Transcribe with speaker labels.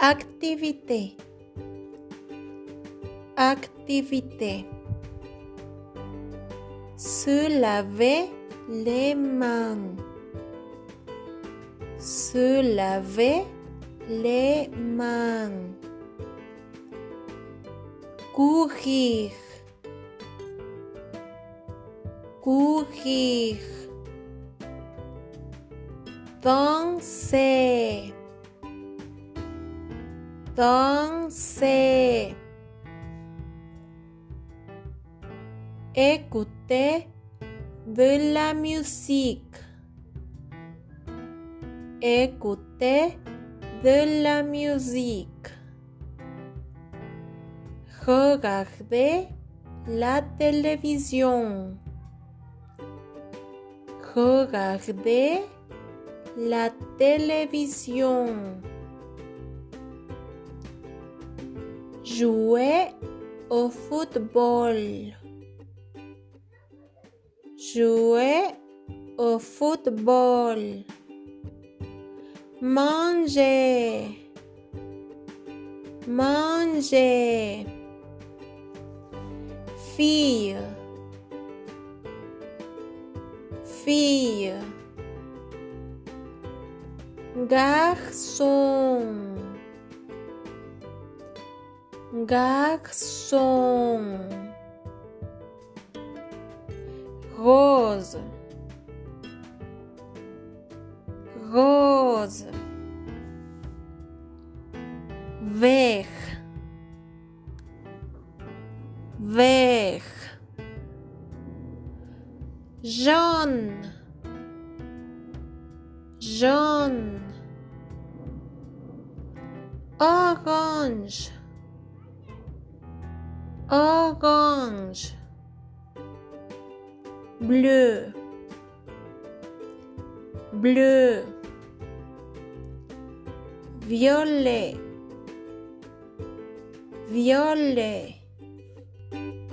Speaker 1: Activité. Activité. Se laver les mains. Se laver les mains. Courir. Courir. Danser. Danser. Écouter de la musique. Écouter de la musique. Regarder la télévision. Regarder la télévision. Jouer au football. Jouer au football. Manger. Manger. Fille. Fille. Garçon. Garçon. Rose. Rose. Vert. Vert. Jaune. Jaune. Orange. Orange. Bleu. Bleu. Violet. Violet.